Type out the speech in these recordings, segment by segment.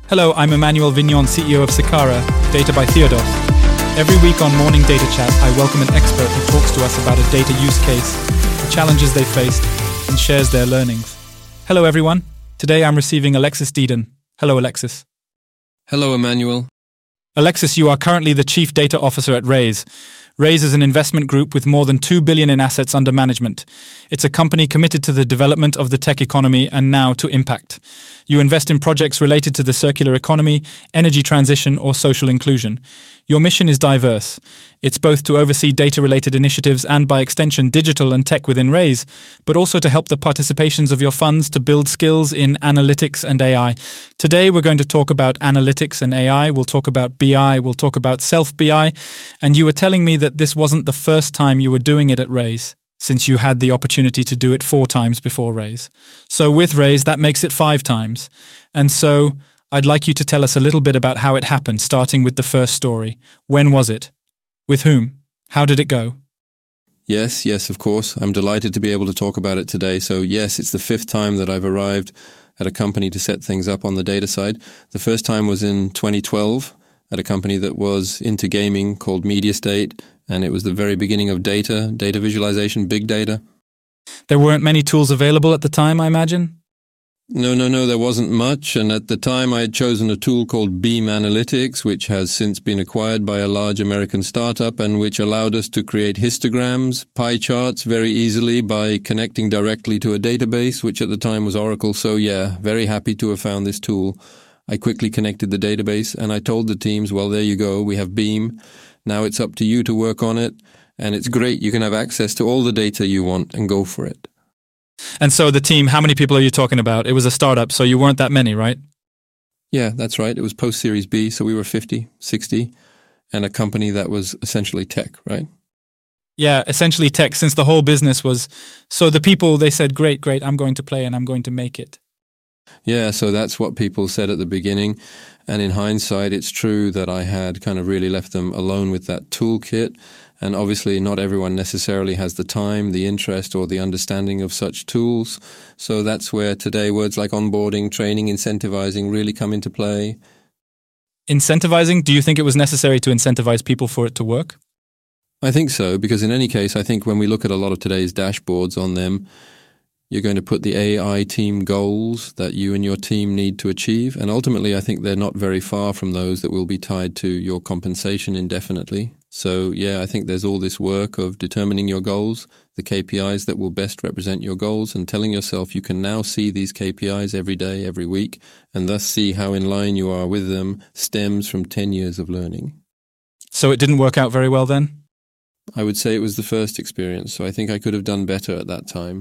Hello, I'm Emmanuel Vignon, CEO of Sikara, Data by Theodos. Every week on Morning Data Chat, I welcome an expert who talks to us about a data use case, the challenges they faced, and shares their learnings. Hello, everyone. Today I'm receiving Alexis Deeden. Hello, Alexis. Hello, Emmanuel. Alexis, you are currently the Chief Data Officer at Raise. Raise is an investment group with more than $2 billion in assets under management. It's a company committed to the development of the tech economy and now to impact. You invest in projects related to the circular economy, energy transition, or social inclusion. Your mission is diverse. It's both to oversee data-related initiatives and, by extension, digital and tech within Raise, but also to help the participations of your funds to build skills in analytics and AI. Today, we're going to talk about analytics and AI. We'll talk about BI. We'll talk about self-BI. And you were telling me that this wasn't the first time you were doing it at Raise, since you had the opportunity to do it 4 times before Raise. So with Raise, that makes it 5 times. And so I'd like you to tell us a little bit about how it happened, starting with the first story. When was it? With whom? How did it go? Yes, of course. I'm delighted to be able to talk about it today. So yes, it's the 5th time that I've arrived at a company to set things up on the data side. The first time was in 2012 at a company that was into gaming called MediaState, and it was the very beginning of data visualization, big data. There weren't many tools available at the time, I imagine? No, there wasn't much, and at the time I had chosen a tool called Beam Analytics, which has since been acquired by a large American startup and which allowed us to create histograms, pie charts very easily by connecting directly to a database, which at the time was Oracle. So yeah, very happy to have found this tool. I quickly connected the database and I told the teams, well, there you go, we have Beam. Now it's up to you to work on it, and it's great. You can have access to all the data you want and go for it. And so the team, how many people are you talking about? It was a startup, so you weren't that many, right? Yeah, that's right. It was post-Series B, so we were 50, 60, and a company that was essentially tech, right? Yeah, essentially tech, since the whole business was... So the people, they said, great, I'm going to play and I'm going to make it. Yeah, so that's what people said at the beginning. And in hindsight, it's true that I had kind of really left them alone with that toolkit. And obviously not everyone necessarily has the time, the interest, or the understanding of such tools. So that's where today words like onboarding, training, incentivizing really come into play. Incentivizing? Do you think it was necessary to incentivize people for it to work? I think so, because in any case, I think when we look at a lot of today's dashboards on them, you're going to put the AI team goals that you and your team need to achieve. And ultimately, I think they're not very far from those that will be tied to your compensation indefinitely. So yeah, I think there's all this work of determining your goals, the KPIs that will best represent your goals, and telling yourself you can now see these KPIs every day, every week, and thus see how in line you are with them stems from 10 years of learning. So it didn't work out very well then? I would say it was the first experience, so I think I could have done better at that time.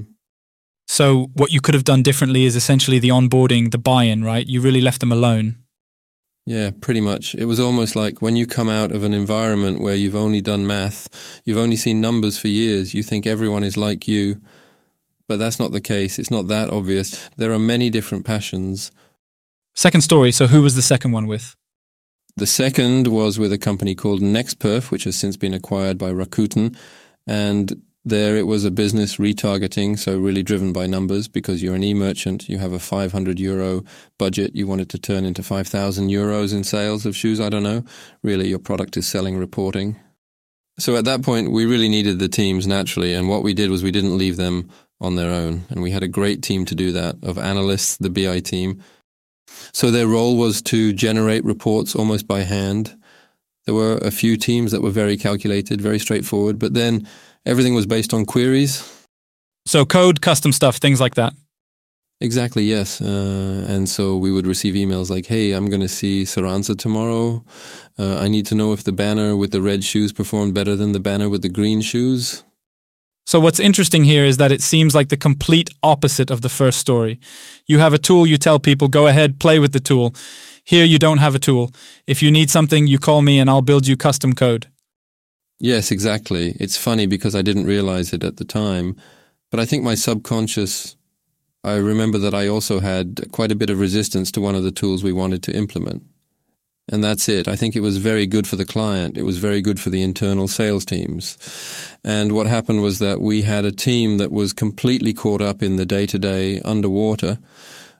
So what you could have done differently is essentially the onboarding, the buy-in, right? You really left them alone. Yeah, pretty much. It was almost like when you come out of an environment where you've only done math, you've only seen numbers for years, you think everyone is like you. But that's not the case. It's not that obvious. There are many different passions. Second story, so who was the second one with? The second was with a company called NextPerf, which has since been acquired by Rakuten. And there it was a business retargeting, so really driven by numbers, because you're an e-merchant, you have a €500 budget, you want it to turn into €5,000 in sales of shoes, I don't know. Really, your product is selling reporting. So at that point, we really needed the teams naturally, and what we did was we didn't leave them on their own. And we had a great team to do that, of analysts, the BI team. So their role was to generate reports almost by hand. There were a few teams that were very calculated, very straightforward, but then everything was based on queries. So code, custom stuff, things like that. Exactly, yes. And so we would receive emails like, hey, I'm going to see Saranza tomorrow. I need to know if the banner with the red shoes performed better than the banner with the green shoes. So what's interesting here is that it seems like the complete opposite of the first story. You have a tool, you tell people, go ahead, play with the tool. Here you don't have a tool. If you need something, you call me and I'll build you custom code. Yes, exactly. It's funny because I didn't realize it at the time, but I think my subconscious, I remember that I also had quite a bit of resistance to one of the tools we wanted to implement. And that's it. I think it was very good for the client. It was very good for the internal sales teams. And what happened was that we had a team that was completely caught up in the day-to-day underwater.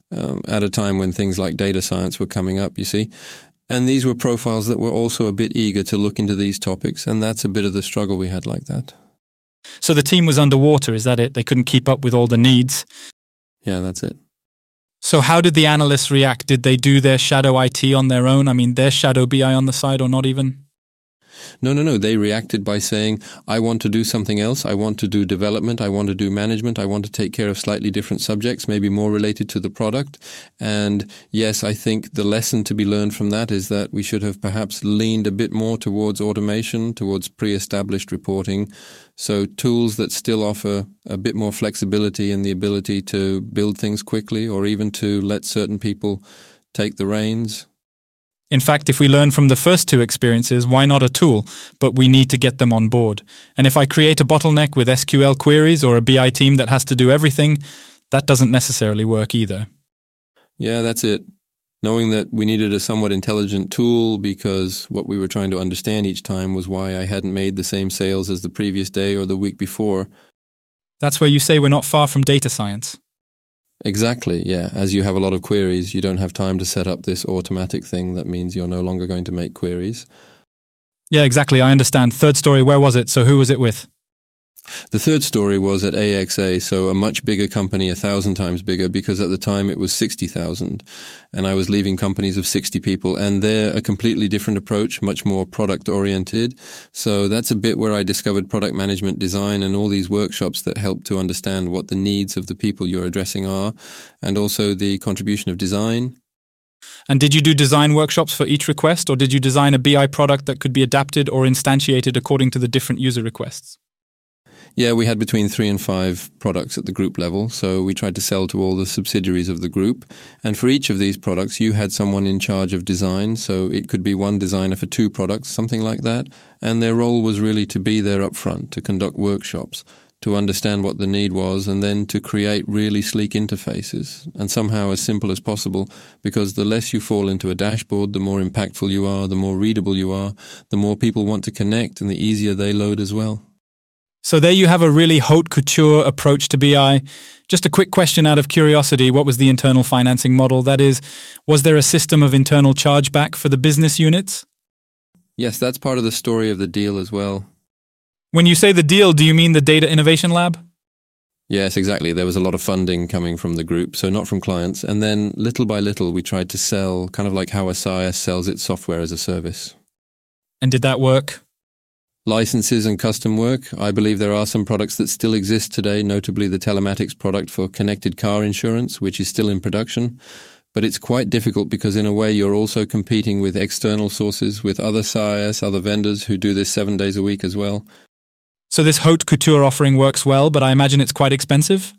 at a time when things like data science were coming up, you see. And these were profiles that were also a bit eager to look into these topics, and that's a bit of the struggle we had like that. So the team was underwater, is that it? They couldn't keep up with all the needs? Yeah, that's it. So how did the analysts react? Did they do their shadow IT on their own? I mean, their shadow BI on the side, or not even? No. They reacted by saying, I want to do something else. I want to do development. I want to do management. I want to take care of slightly different subjects, maybe more related to the product. And yes, I think the lesson to be learned from that is that we should have perhaps leaned a bit more towards automation, towards pre-established reporting. So tools that still offer a bit more flexibility and the ability to build things quickly, or even to let certain people take the reins. In fact, if we learn from the first two experiences, why not a tool? But we need to get them on board. And if I create a bottleneck with SQL queries or a BI team that has to do everything, that doesn't necessarily work either. Yeah, that's it. Knowing that we needed a somewhat intelligent tool because what we were trying to understand each time was why I hadn't made the same sales as the previous day or the week before. That's where you say we're not far from data science. Exactly, yeah. As you have a lot of queries, you don't have time to set up this automatic thing that means you're no longer going to make queries. Yeah, exactly. I understand. Third story, where was it? So who was it with? The third story was at AXA, so a much bigger company, 1,000 times bigger, because at the time it was 60,000, and I was leaving companies of 60 people, and they're a completely different approach, much more product-oriented. So that's a bit where I discovered product management design and all these workshops that help to understand what the needs of the people you're addressing are, and also the contribution of design. And did you do design workshops for each request, or did you design a BI product that could be adapted or instantiated according to the different user requests? Yeah, we had between 3 and 5 products at the group level, so we tried to sell to all the subsidiaries of the group. And for each of these products, you had someone in charge of design, so it could be one designer for 2 products, something like that. And their role was really to be there up front, to conduct workshops, to understand what the need was, and then to create really sleek interfaces, and somehow as simple as possible, because the less you fall into a dashboard, the more impactful you are, the more readable you are, the more people want to connect, and the easier they load as well. So there you have a really haute couture approach to BI. Just a quick question out of curiosity, what was the internal financing model? That is, was there a system of internal chargeback for the business units? Yes, that's part of the story of the deal as well. When you say the deal, do you mean the Data Innovation Lab? Yes, exactly. There was a lot of funding coming from the group, so not from clients. And then little by little, we tried to sell, kind of like how SIS sells its software as a service. And did that work? Licenses and custom work. I believe there are some products that still exist today, notably the telematics product for connected car insurance, which is still in production. But it's quite difficult because in a way you're also competing with external sources, with other SIS, other vendors who do this 7 days a week as well. So this haute couture offering works well, but I imagine it's quite expensive?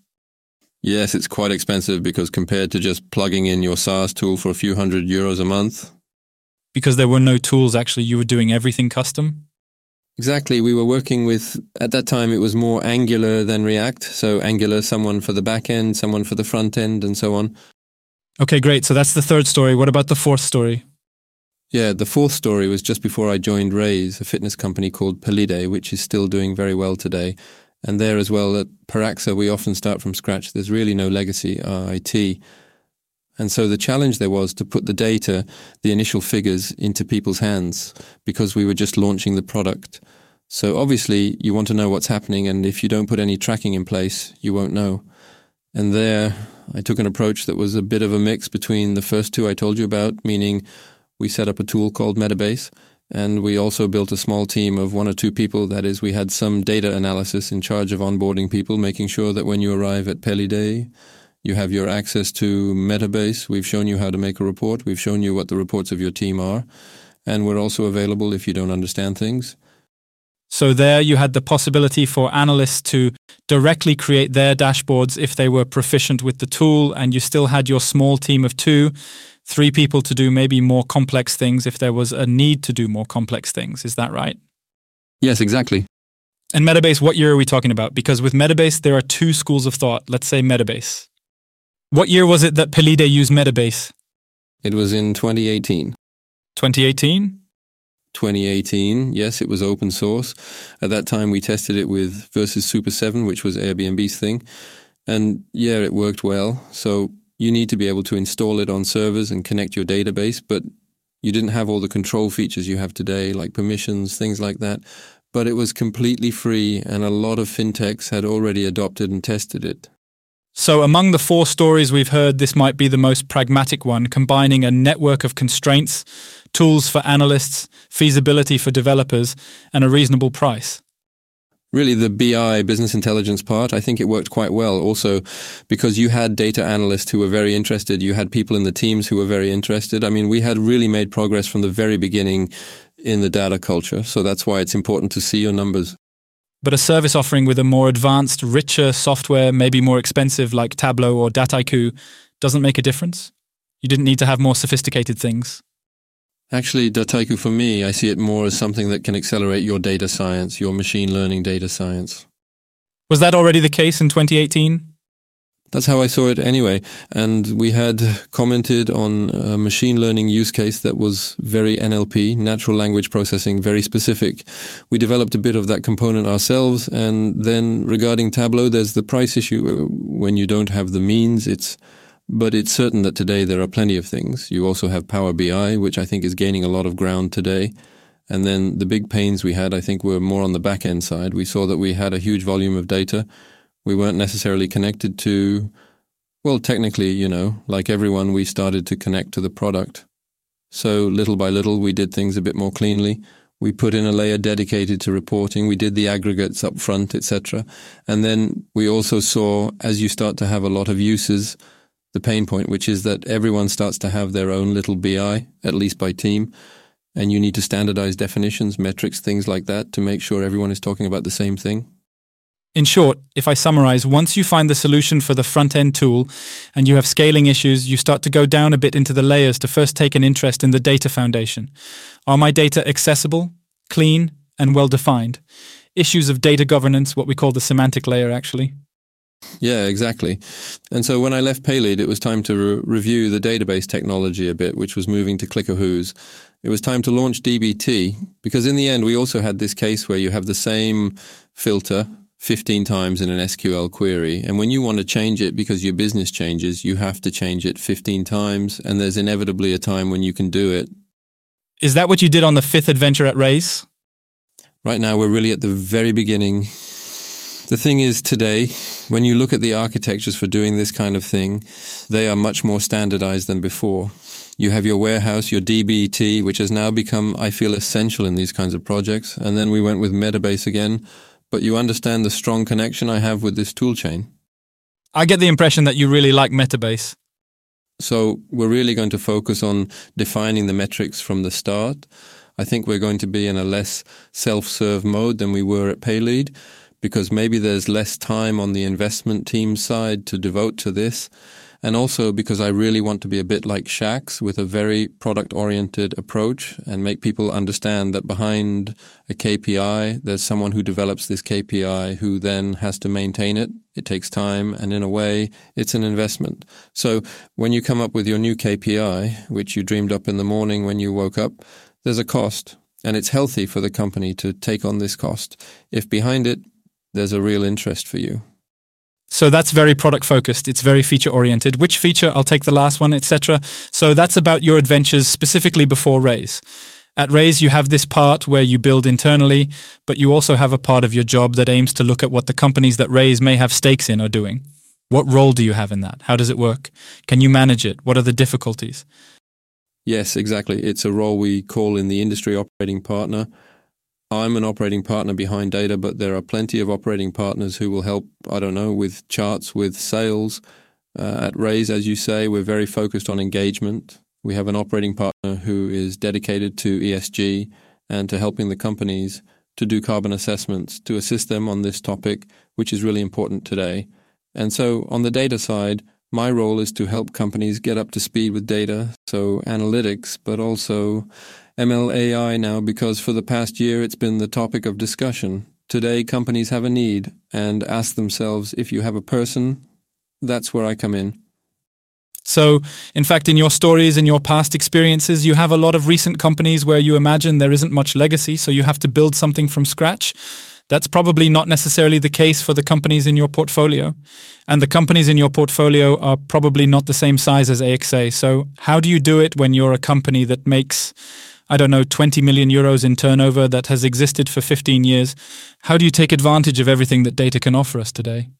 Yes, it's quite expensive because compared to just plugging in your SaaS tool for a few €100 a month. Because there were no tools, actually, you were doing everything custom? Exactly. We were working with, at that time, it was more Angular than React. So Angular, someone for the back end, someone for the front end, and so on. Okay, great. So that's the third story. What about the fourth story? Yeah, the fourth story was just before I joined Raise, a fitness company called Pelide, which is still doing very well today. And there as well, at Paraxa, we often start from scratch. There's really no legacy IT. And so the challenge there was to put the data, the initial figures, into people's hands because we were just launching the product. So obviously you want to know what's happening, and if you don't put any tracking in place, you won't know. And there I took an approach that was a bit of a mix between the first two I told you about, meaning we set up a tool called Metabase, and we also built a small team of 1 or 2 people. That is, we had some data analysis in charge of onboarding people, making sure that when you arrive at Pelide, you have your access to Metabase. We've shown you how to make a report. We've shown you what the reports of your team are. And we're also available if you don't understand things. So there you had the possibility for analysts to directly create their dashboards if they were proficient with the tool, and you still had your small team of 2, 3 people to do maybe more complex things if there was a need to do more complex things. Is that right? Yes, exactly. And Metabase, what year are we talking about? Because with Metabase, there are 2 schools of thought. Let's say Metabase. What year was it that Pelide used Metabase? It was in 2018. 2018? 2018, yes, it was open source. At that time, we tested it with Versus Super 7, which was Airbnb's thing. And yeah, it worked well. So You need to be able to install it on servers and connect your database, but you didn't have all the control features you have today, like permissions, things like that. But it was completely free, and a lot of fintechs had already adopted and tested it. So among the 4 stories we've heard, this might be the most pragmatic one, combining a network of constraints, tools for analysts, feasibility for developers, and a reasonable price. Really, the BI, business intelligence part, I think it worked quite well. Also, because you had data analysts who were very interested, you had people in the teams who were very interested. I mean, we had really made progress from the very beginning in the data culture. So that's why it's important to see your numbers. But a service offering with a more advanced, richer software, maybe more expensive like Tableau or Dataiku, doesn't make a difference? You didn't need to have more sophisticated things? Actually, Dataiku, for me, I see it more as something that can accelerate your data science, your machine learning data science. Was that already the case in 2018? That's how I saw it anyway. And we had commented on a machine learning use case that was very NLP, natural language processing, very specific. We developed a bit of that component ourselves. And then regarding Tableau, there's the price issue. When you don't have the means, but it's certain that today there are plenty of things. You also have Power BI, which I think is gaining a lot of ground today. And then the big pains we had, I think, were more on the back end side. We saw that we had a huge volume of data. We weren't necessarily connected to, well, technically, like everyone, we started to connect to the product. So little by little, we did things a bit more cleanly. We put in a layer dedicated to reporting. We did the aggregates up front, etc. And then we also saw, as you start to have a lot of uses, the pain point, which is that everyone starts to have their own little BI, at least by team. And you need to standardize definitions, metrics, things like that to make sure everyone is talking about the same thing. In short, if I summarize, once you find the solution for the front-end tool and you have scaling issues, you start to go down a bit into the layers to first take an interest in the data foundation. Are my data accessible, clean, and well-defined? Issues of data governance, what we call the semantic layer, actually. Yeah, exactly. And so when I left Paylead, it was time to review the database technology a bit, which was moving to ClickerWho's. It was time to launch DBT, because in the end, we also had this case where you have the same filter 15 times in an SQL query. And when you want to change it because your business changes, you have to change it 15 times. And there's inevitably a time when you can do it. Is that what you did on the 5th adventure at Raise? Right now, we're really at the very beginning. The thing is today, when you look at the architectures for doing this kind of thing, they are much more standardized than before. You have your warehouse, your DBT, which has now become, I feel, essential in these kinds of projects. And then we went with Metabase again. But you understand the strong connection I have with this toolchain. I get the impression that you really like Metabase. So we're really going to focus on defining the metrics from the start. I think we're going to be in a less self-serve mode than we were at Paylead, because maybe there's less time on the investment team side to devote to this. And also because I really want to be a bit like Shax with a very product-oriented approach and make people understand that behind a KPI, there's someone who develops this KPI who then has to maintain it. It takes time, and in a way, it's an investment. So when you come up with your new KPI, which you dreamed up in the morning when you woke up, there's a cost, and it's healthy for the company to take on this cost if behind it, there's a real interest for you. So that's very product focused. It's very feature oriented. Which feature? I'll take the last one, etc. So that's about your adventures specifically before Raise. At Raise, you have this part where you build internally, but you also have a part of your job that aims to look at what the companies that Raise may have stakes in are doing. What role do you have in that? How does it work? Can you manage it? What are the difficulties? Yes, exactly. It's a role we call in the industry operating partner. I'm an operating partner behind data, but there are plenty of operating partners who will help, with charts, with sales. At Raise, as you say, we're very focused on engagement. We have an operating partner who is dedicated to ESG and to helping the companies to do carbon assessments, to assist them on this topic, which is really important today. And so on the data side, my role is to help companies get up to speed with data, so analytics, but also ML AI now, because for the past year it's been the topic of discussion. Today companies have a need and ask themselves, if you have a person, that's where I come in. So, in fact, in your stories, in your past experiences, you have a lot of recent companies where you imagine there isn't much legacy, so you have to build something from scratch. That's probably not necessarily the case for the companies in your portfolio. And the companies in your portfolio are probably not the same size as AXA. So how do you do it when you're a company that makes, 20 million euros in turnover, that has existed for 15 years? How do you take advantage of everything that data can offer us today?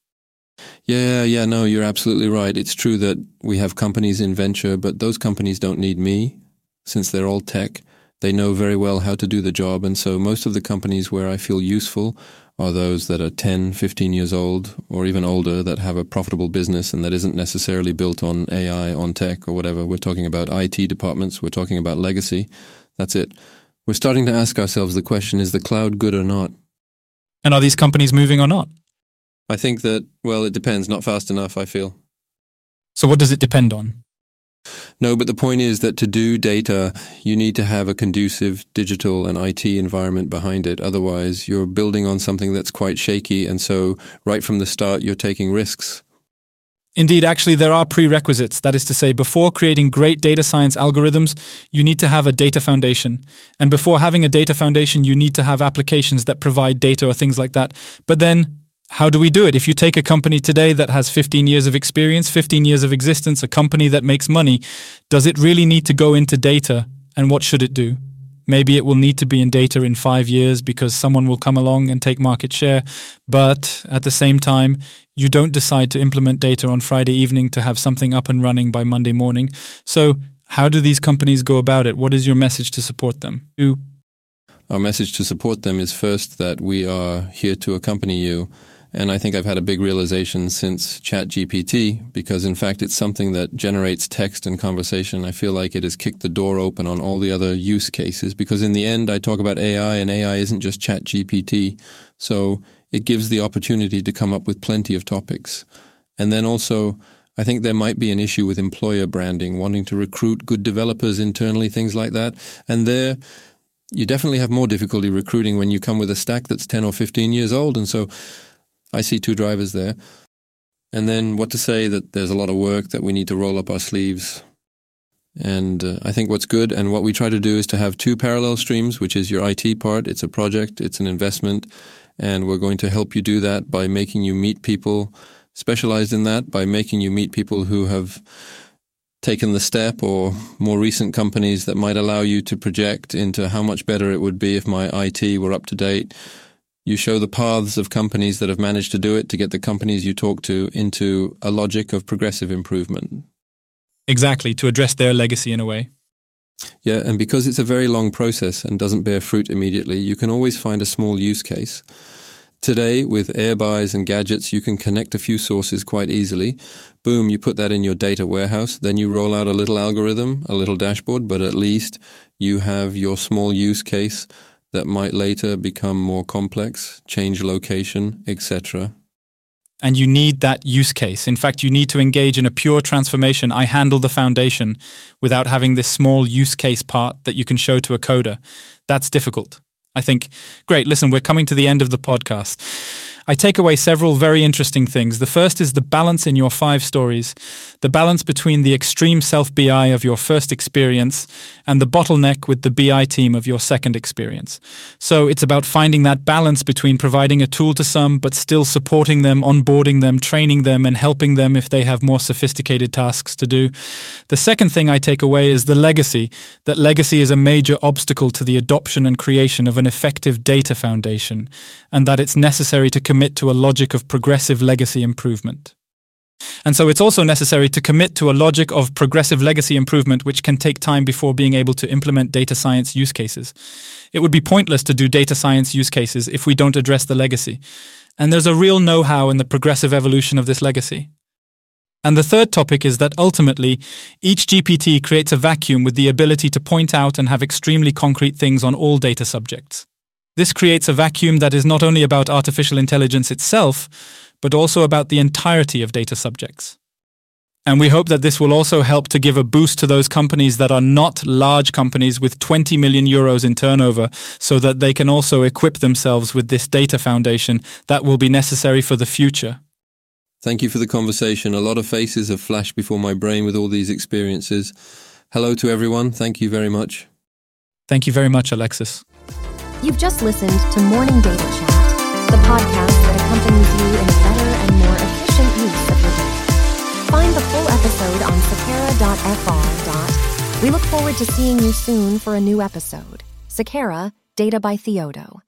Yeah, no, you're absolutely right. It's true that we have companies in venture, but those companies don't need me, since they're all tech. They know very well how to do the job, and so most of the companies where I feel useful are those that are 10, 15 years old, or even older, that have a profitable business and that isn't necessarily built on AI, on tech, or whatever. We're talking about IT departments, we're talking about legacy. That's it. We're starting to ask ourselves the question, is the cloud good or not? And are these companies moving or not? I think that, it depends, not fast enough, I feel. So what does it depend on? No, but the point is that to do data, you need to have a conducive digital and IT environment behind it. Otherwise, you're building on something that's quite shaky, and so right from the start, you're taking risks. Indeed, actually, there are prerequisites. That is to say, before creating great data science algorithms, you need to have a data foundation. And before having a data foundation, you need to have applications that provide data or things like that. But then, how do we do it? If you take a company today that has 15 years of experience, 15 years of existence, a company that makes money, does it really need to go into data? And what should it do? Maybe it will need to be in data in 5 years because someone will come along and take market share. But at the same time, you don't decide to implement data on Friday evening to have something up and running by Monday morning. So how do these companies go about it? What is your message to support them? Our message to support them is first that we are here to accompany you. And I think I've had a big realization since ChatGPT, because in fact it's something that generates text and conversation. I feel like it has kicked the door open on all the other use cases, because in the end I talk about AI, and AI isn't just ChatGPT. So it gives the opportunity to come up with plenty of topics. And then also, I think there might be an issue with employer branding, wanting to recruit good developers internally, things like that. And there, you definitely have more difficulty recruiting when you come with a stack that's 10 or 15 years old. And so I see two drivers there. And then what to say that there's a lot of work that we need to roll up our sleeves. And I think what's good and what we try to do is to have two parallel streams, which is your IT part. It's a project, it's an investment, and we're going to help you do that by making you meet people specialized in that, by making you meet people who have taken the step, or more recent companies that might allow you to project into how much better it would be if my IT were up to date. You show the paths of companies that have managed to do it to get the companies you talk to into a logic of progressive improvement. Exactly, to address their legacy in a way. Yeah, and because it's a very long process and doesn't bear fruit immediately, you can always find a small use case. Today, with Airbuys and gadgets, you can connect a few sources quite easily. Boom, you put that in your data warehouse, then you roll out a little algorithm, a little dashboard, but at least you have your small use case that might later become more complex, change location, etc. And you need that use case. In fact, you need to engage in a pure transformation. I handle the foundation without having this small use case part that you can show to a coder. That's difficult. I think, great, listen, we're coming to the end of the podcast. I take away several very interesting things. The first is the balance in your 5 stories, the balance between the extreme self-BI of your first experience and the bottleneck with the BI team of your second experience. So it's about finding that balance between providing a tool to some, but still supporting them, onboarding them, training them, and helping them if they have more sophisticated tasks to do. The second thing I take away is the legacy, that legacy is a major obstacle to the adoption and creation of an effective data foundation, and that it's necessary to commit to a logic of progressive legacy improvement. And so it's also necessary to commit to a logic of progressive legacy improvement, which can take time before being able to implement data science use cases. It would be pointless to do data science use cases if we don't address the legacy. And there's a real know-how in the progressive evolution of this legacy. And the third topic is that ultimately, each GPT creates a vacuum with the ability to point out and have extremely concrete things on all data subjects. This creates a vacuum that is not only about artificial intelligence itself, but also about the entirety of data subjects. And we hope that this will also help to give a boost to those companies that are not large companies with 20 million euros in turnover, so that they can also equip themselves with this data foundation that will be necessary for the future. Thank you for the conversation. A lot of faces have flashed before my brain with all these experiences. Hello to everyone. Thank you very much. Thank you very much, Alexis. You've just listened to Morning Data Chat. the podcast that accompanies you in a better and more efficient use of your data. Find the full episode on sakara.fr. We look forward to seeing you soon for a new episode. Sakara, Data by Theodo.